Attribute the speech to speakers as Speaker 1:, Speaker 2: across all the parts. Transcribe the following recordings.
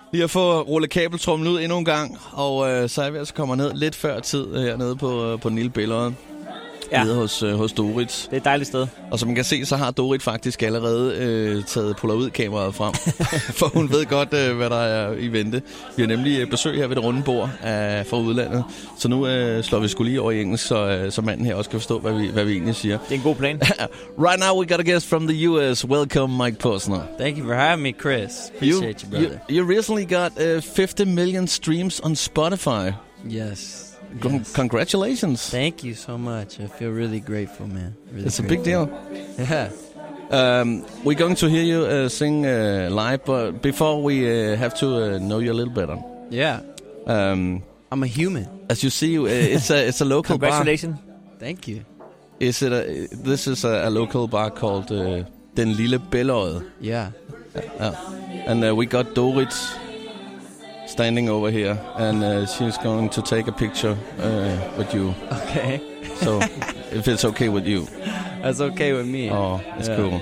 Speaker 1: Lige at få rullet kabeltrummen ud endnu en gang, og så er vi altså kommet ned lidt før tid hernede på den lille billede. Ja. Nede hos Dorit.
Speaker 2: Det er et dejligt sted.
Speaker 1: Og som man kan se, så har Dorit faktisk allerede taget Polaroid-kameraet frem. For hun ved godt, hvad der er i vente. Vi har nemlig besøg her ved det runde bord fra udlandet. Så nu slår vi sgu lige over i engelsk, så manden her også kan forstå, hvad vi egentlig siger.
Speaker 2: Det er en god plan.
Speaker 1: Right now we got a guest from the US. Welcome, Mike Posner.
Speaker 3: Thank you for having me, Chris. Appreciate you, brother.
Speaker 1: You recently got 50 million streams on Spotify.
Speaker 3: Yes.
Speaker 1: Congratulations.
Speaker 3: Thank you so much. I feel really grateful, man. Really
Speaker 1: it's
Speaker 3: grateful.
Speaker 1: A big deal.
Speaker 3: Yeah.
Speaker 1: We're going to hear you sing live, but before we have to know you a little better.
Speaker 3: Yeah. I'm a human.
Speaker 1: As you see, it's a local
Speaker 2: Congratulations.
Speaker 3: Bar. Thank you.
Speaker 1: This is a local bar called Den Lille Bellod.
Speaker 3: Yeah.
Speaker 1: And we got Dorit standing over here, and she's going to take a picture with you.
Speaker 3: Okay.
Speaker 1: So, if it's okay with you.
Speaker 3: That's okay with me.
Speaker 1: Oh, that's cool.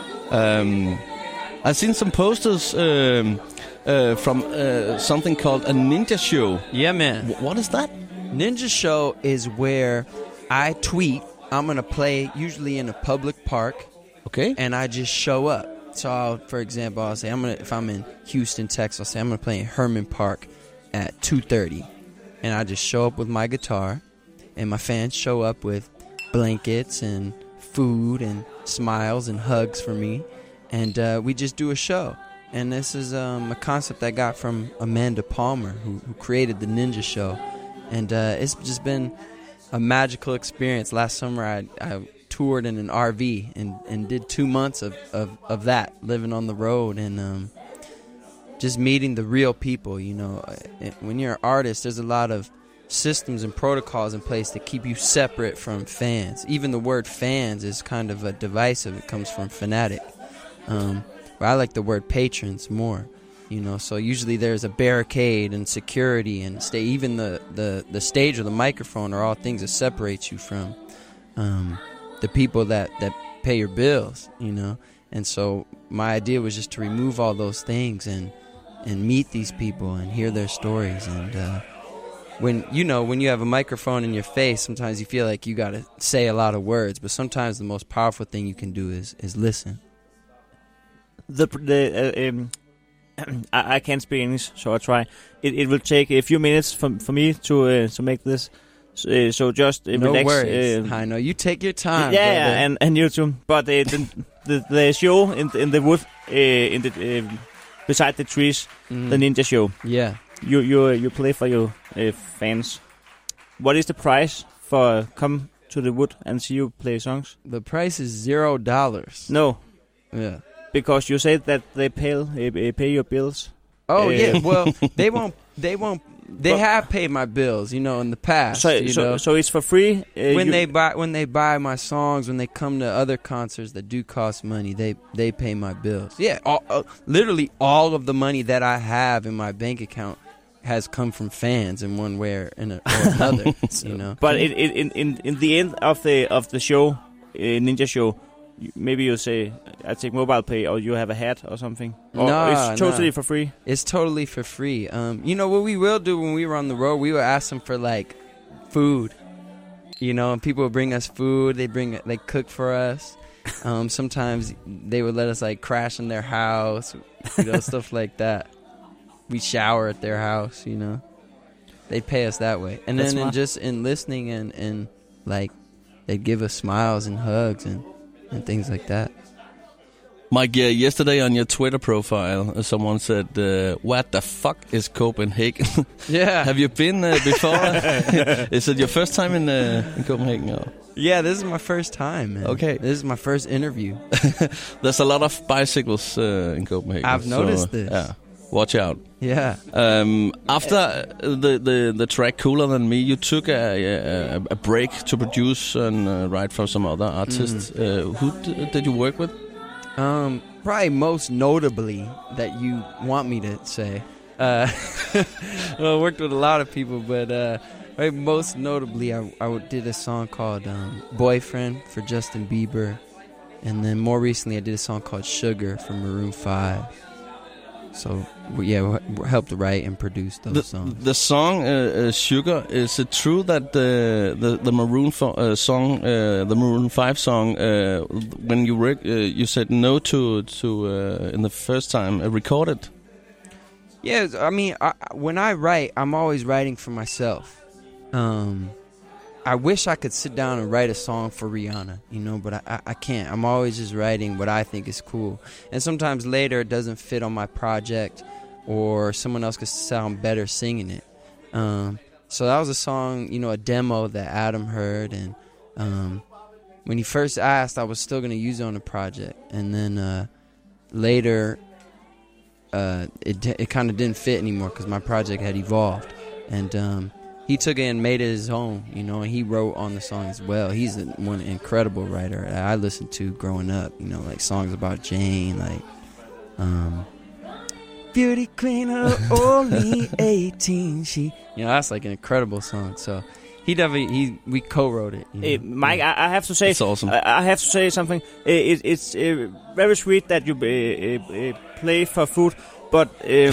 Speaker 1: I've seen some posters from something called a ninja show.
Speaker 3: Yeah, man.
Speaker 1: What is that?
Speaker 3: Ninja show is where I tweet. I'm going to play usually in a public park.
Speaker 1: Okay.
Speaker 3: And I just show up. So, for example, I'll say if I'm in Houston, Texas, I'll say I'm going to play in Herman Park at 2:30, and I just show up with my guitar, and my fans show up with blankets and food and smiles and hugs for me, and we just do a show. And this is a concept I got from Amanda Palmer, who created the Ninja Show, and it's just been a magical experience. Last summer, I toured in an RV and did 2 months of that, living on the road and just meeting the real people. You know, when you're an artist, there's a lot of systems and protocols in place to keep you separate from fans. Even the word fans is kind of a divisive. It comes from fanatic. But I like the word patrons more. You know, so usually there's a barricade and security and even the stage or the microphone are all things that separate you from the people that pay your bills, you know. And so my idea was just to remove all those things and meet these people and hear their stories. And when you have a microphone in your face, sometimes you feel like you got to say a lot of words, but sometimes the most powerful thing you can do is listen.
Speaker 2: I can't speak English, so I try. It will take a few minutes for me to make this. So just
Speaker 3: no
Speaker 2: relax.
Speaker 3: Worries. I know you take your time.
Speaker 2: Yeah, and you too. But the show in the wood, beside the trees, the Ninja Show.
Speaker 3: Yeah,
Speaker 2: you play for your fans. What is the price for come to the wood and see you play songs?
Speaker 3: The price is $0.
Speaker 2: No.
Speaker 3: Yeah.
Speaker 2: Because you said that they pay your bills.
Speaker 3: Oh yeah, well they won't. They have paid my bills, you know, in the past.
Speaker 2: So it's for free
Speaker 3: when they buy my songs, when they come to other concerts that do cost money. They pay my bills. Yeah, literally all of the money that I have in my bank account has come from fans in one way or another. You know.
Speaker 2: But in the end of the show, Ninja Show, maybe you say, I take mobile pay, or you have a hat or something. Or it's totally for free?
Speaker 3: It's totally for free. You know, what we will do when we were on the road, we would ask them for, like, food. You know, and people would bring us food. They cook for us. Sometimes they would let us, like, crash in their house. You know, stuff like that. We shower at their house, you know. They pay us that way. And then just in listening and, like, they'd give us smiles and hugs and things like that.
Speaker 1: Mike, yesterday on your Twitter profile, someone said, what the fuck is Copenhagen?
Speaker 3: Yeah.
Speaker 1: Have you been before? Is it your first time in Copenhagen? Or?
Speaker 3: Yeah, this is my first time, man.
Speaker 1: Okay.
Speaker 3: This is my first interview.
Speaker 1: There's a lot of bicycles in Copenhagen.
Speaker 3: I've noticed this.
Speaker 1: Yeah. Watch out.
Speaker 3: Yeah.
Speaker 1: After the track Cooler Than Me, you took a break to produce and write for some other artists. Who did you work with?
Speaker 3: Probably most notably that you want me to say. Well, I worked with a lot of people, but right, most notably I did a song called Boyfriend for Justin Bieber. And then more recently I did a song called Sugar for Maroon 5. So we helped write and produce those songs.
Speaker 1: The song "Sugar." Is it true that the Maroon song, the Maroon 5 song, when you said no to in the first time recorded?
Speaker 3: Yeah, I mean, when I write, I'm always writing for myself. I wish I could sit down and write a song for Rihanna, but I can't. I'm always just writing what I think is cool. And sometimes later it doesn't fit on my project, or someone else could sound better singing it. So that was a song, a demo that Adam heard. And when he first asked, I was still going to use it on the project. And then later, it kind of didn't fit anymore because my project had evolved. And he took it and made it his own, and he wrote on the song as well. He's one incredible writer that I listened to growing up, like songs about Jane, like Beauty Queen of only 18. That's like an incredible song. So we co-wrote it.
Speaker 2: Hey, Mike, I have to say,
Speaker 1: it's awesome.
Speaker 2: I have to say something. It's very sweet that you play for food. But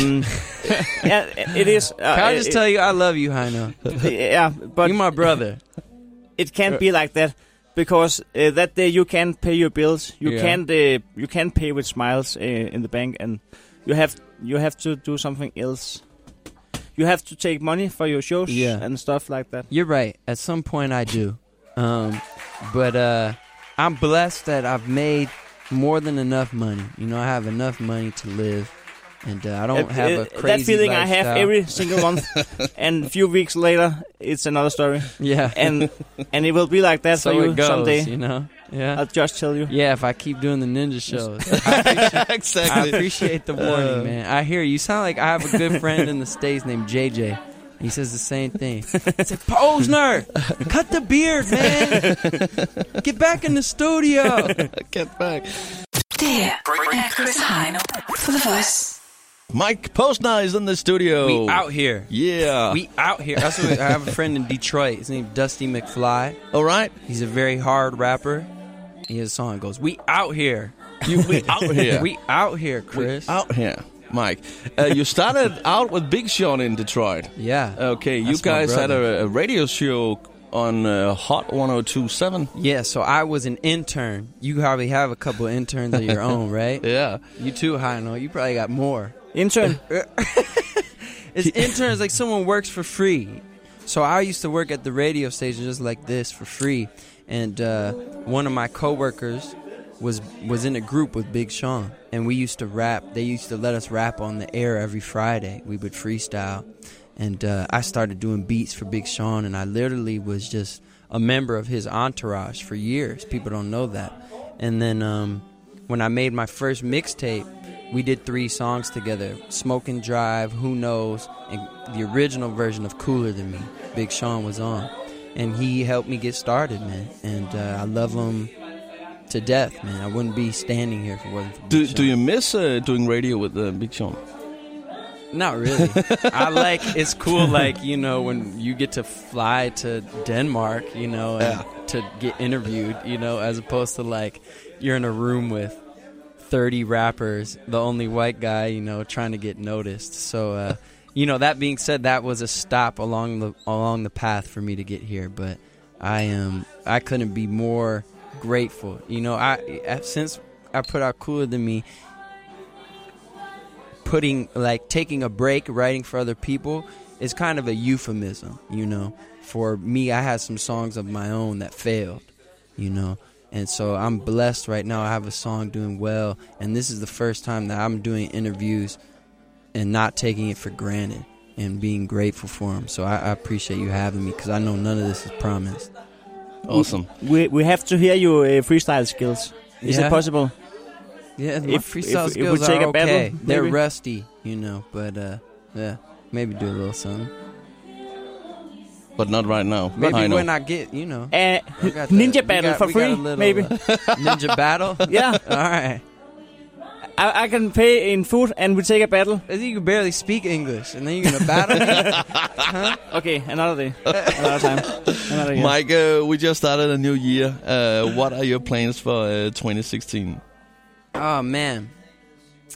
Speaker 2: yeah, it is.
Speaker 3: Can I just tell you, I love you, Heino.
Speaker 2: Yeah, but
Speaker 3: you're my brother.
Speaker 2: It can't be like that, because that day you can't pay your bills. You can't pay with smiles in the bank, and you have to do something else. You have to take money for your shows and stuff like that.
Speaker 3: You're right. At some point, I do. But I'm blessed that I've made more than enough money. I have enough money to live. And I don't have a crazy
Speaker 2: that feeling
Speaker 3: lifestyle.
Speaker 2: I have every single month, and a few weeks later, it's another story.
Speaker 3: Yeah,
Speaker 2: and it will be like that
Speaker 3: so
Speaker 2: for you
Speaker 3: it goes,
Speaker 2: someday.
Speaker 3: Yeah,
Speaker 2: I'll just tell you.
Speaker 3: Yeah, if I keep doing the ninja shows.
Speaker 1: Exactly.
Speaker 3: I appreciate the warning, man. I hear you. Sound like I have a good friend in the States named JJ. He says the same thing. He said, Posner, cut the beard, man. Get back in the studio.
Speaker 1: Get back.
Speaker 4: Det er Chris Heino for The Voice.
Speaker 1: Mike Posner is in the studio.
Speaker 3: We out here.
Speaker 1: Yeah.
Speaker 3: We out here. I have a friend in Detroit. His name's Dusty McFly.
Speaker 1: All right.
Speaker 3: He's a very hard rapper. He has a song that goes, we out here.
Speaker 1: We out here.
Speaker 3: We out here, Chris.
Speaker 1: We out here. Mike, you started out with Big Sean in Detroit.
Speaker 3: Yeah.
Speaker 1: Okay, you guys had a radio show on Hot 102.7.
Speaker 3: Yeah, so I was an intern. You probably have a couple of interns of your own, right?
Speaker 1: Yeah.
Speaker 3: You too, Heino. You probably got more.
Speaker 2: Intern?
Speaker 3: It's interns, like someone works for free. So I used to work at the radio station just like this for free. And one of my coworkers was in a group with Big Sean. And we used to rap. They used to let us rap on the air every Friday. We would freestyle. And I started doing beats for Big Sean. And I literally was just a member of his entourage for years. People don't know that. And then when I made my first mixtape, we did 3 songs together. Smoke and Drive, Who Knows, and the original version of Cooler Than Me. Big Sean was on. And he helped me get started, man. And I love him to death, man. I wouldn't be standing here if it wasn't for Big Sean.
Speaker 1: Do you miss doing radio with Big Sean?
Speaker 3: Not really. It's cool, when you get to fly to Denmark, and to get interviewed, as opposed to, you're in a room with 30 rappers, the only white guy, trying to get noticed. So, that being said, that was a stop along the path for me to get here. But I couldn't be more grateful. Since I put out Cooler Than Me, taking a break, writing for other people is kind of a euphemism, For me, I had some songs of my own that failed, And so I'm blessed right now. I have a song doing well, and this is the first time that I'm doing interviews and not taking it for granted and being grateful for them. So I appreciate you having me, because I know none of this is promised.
Speaker 1: Awesome.
Speaker 2: We have to hear your freestyle skills. Is it possible?
Speaker 3: Yeah, my freestyle skills are okay. They're rusty, but maybe do a little something.
Speaker 1: But not right now.
Speaker 3: Maybe when I get,
Speaker 2: Ninja battle for free, maybe.
Speaker 3: Ninja battle?
Speaker 2: Yeah.
Speaker 3: All right.
Speaker 2: I can pay in food and we take a battle.
Speaker 3: I think you can barely speak English, and then you're going to battle me? Huh?
Speaker 2: Okay, another day. Another time. Another year.
Speaker 1: Mike, we just started a new year. What are your plans for 2016?
Speaker 3: Oh, man.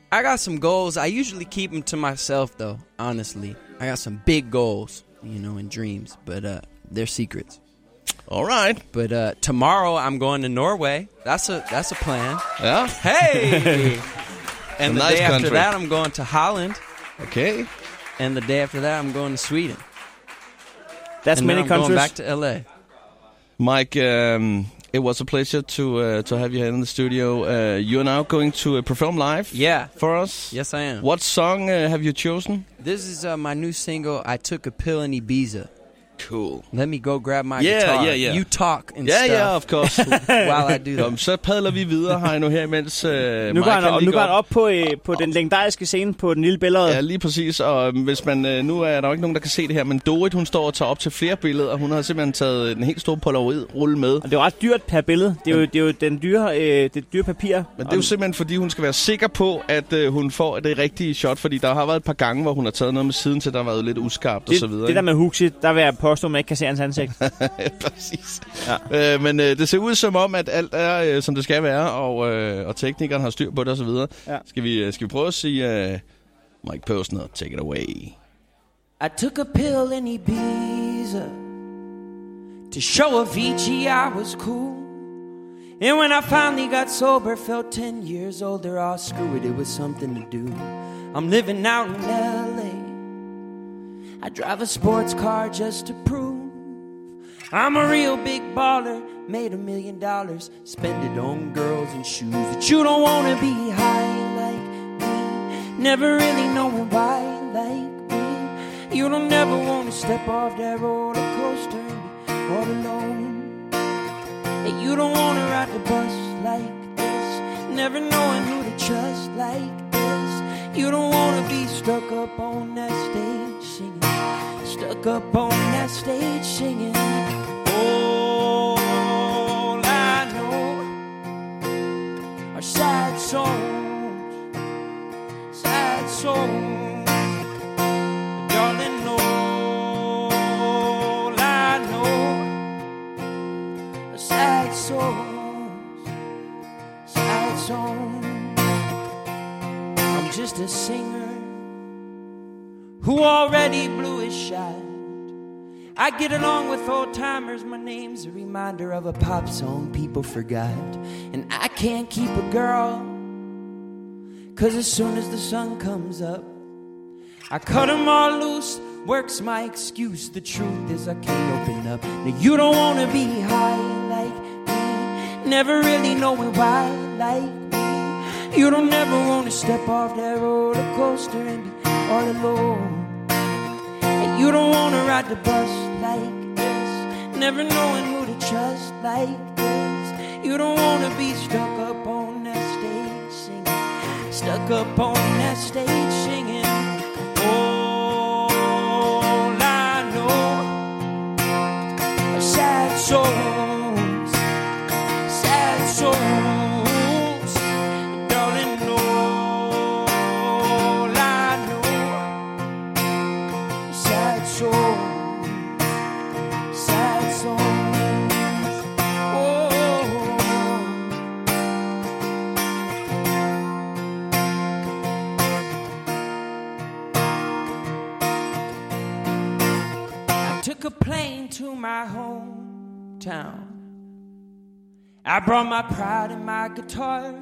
Speaker 3: I got some goals. I usually keep them to myself, though. Honestly, I got some big goals, and dreams, but they're secrets.
Speaker 1: All right.
Speaker 3: But tomorrow I'm going to Norway. That's a plan.
Speaker 1: Yeah.
Speaker 3: Hey. And the
Speaker 1: nice
Speaker 3: day
Speaker 1: country.
Speaker 3: after that I'm going to Holland.
Speaker 1: Okay.
Speaker 3: And the day after that I'm going to Sweden.
Speaker 2: That's
Speaker 3: and
Speaker 2: many
Speaker 3: then I'm
Speaker 2: countries.
Speaker 3: going back to LA.
Speaker 1: Mike, it was a pleasure to have you here in the studio. You're now going to perform live.
Speaker 3: Yeah.
Speaker 1: For us.
Speaker 3: Yes, I am.
Speaker 1: What song have you chosen?
Speaker 3: This is my new single. I took a pill in Ibiza.
Speaker 1: Cool.
Speaker 3: Let me go grab my guitar.
Speaker 1: Yeah.
Speaker 3: You talk and stuff.
Speaker 1: Yeah, of course.
Speaker 3: While I do that.
Speaker 1: Så padler vi videre, Heino, her imens
Speaker 2: Nu går han op på den legendariske scene på den lille billede.
Speaker 1: Ja, lige præcis. Og hvis man nu er der jo ikke nogen, der kan se det her, men Dorit, hun står og tager op til flere billeder. Hun har simpelthen taget en helt stor polaroid-rulle med.
Speaker 2: Og det er jo ret dyrt per billede. Det er jo det dyre papir.
Speaker 1: Men det er jo simpelthen, fordi hun skal være sikker på, at hun får det rigtige shot. Fordi der har været et par gange, hvor hun har taget noget med siden til, der har været lidt uskarpt og så videre.
Speaker 2: Det der med Huxi, der vil jeg påstå, at man ikke kan se hans ansigt.
Speaker 1: Præcis. Ja. Men det ser ud som om, at alt er, som det skal være, og teknikeren har styr på det og så videre. Ja. Skal vi prøve at sige, Mike Posner, take it away.
Speaker 5: I took a pill in Ibiza to show Avicii I was cool. And when I finally got sober, felt 10 years older. Oh, screw it, it was something to do. I'm living out in LA. I drive a sports car just to prove I'm a real big baller. Made $1 million, spend it on girls and shoes. But you don't wanna be high like me, never really knowing why like me. You don't never wanna step off that roller coaster and be all alone. And you don't wanna ride the bus like this, never knowing who to trust like this. You don't wanna be stuck up on that stage singing, stuck up on that stage singing. All I know are sad songs, sad songs. Darling, all I know are sad songs, sad songs. I'm just a singer who already blew his shot. I get along with old timers. My name's a reminder of a pop song people forgot. And I can't keep a girl, 'cause as soon as the sun comes up, I cut them all loose. Work's my excuse. The truth is I can't open up. Now you don't wanna be high like me, never really knowing why like me. You don't ever wanna step off that roller coaster and be all alone. You don't wanna ride the bus like this, never knowing who to trust like this. You don't wanna be stuck up on that stage singing, stuck up on that stage singing. All I know are sad songs, sad songs. Darling, all I know are sad songs, sad songs. Oh. I took a plane to my hometown. I brought my pride and my guitar.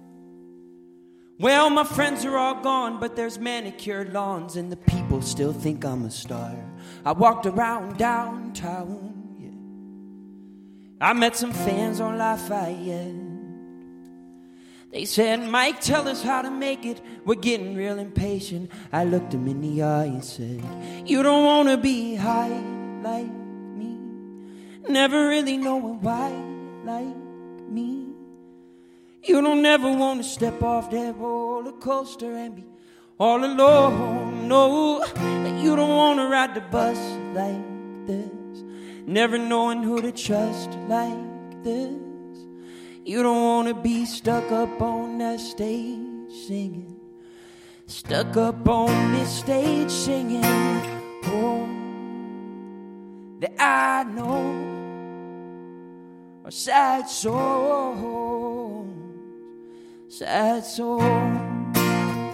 Speaker 5: Well, my friends are all gone, but there's manicured lawns and the people still think I'm a star. I walked around downtown, yeah. I met some fans on Lafayette. They said, Mike, tell us how to make it. We're getting real impatient. I looked them in the eye and said, you don't want to be high like me, never really knowing why like me. You don't ever want to step off that roller coaster and be all alone. No, you don't want to ride the bus like this, never knowing who to trust like this. You don't want to be stuck up on that stage singing, stuck up on this stage singing. Oh, that I know are sad songs, sad songs.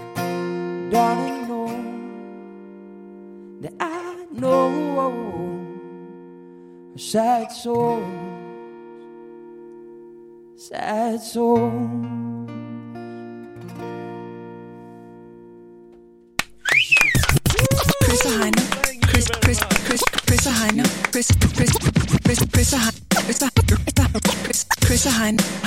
Speaker 5: darling, know that I know sad souls, sad souls.
Speaker 4: Chris og Heino. Chris og Heino. Chris og Heino.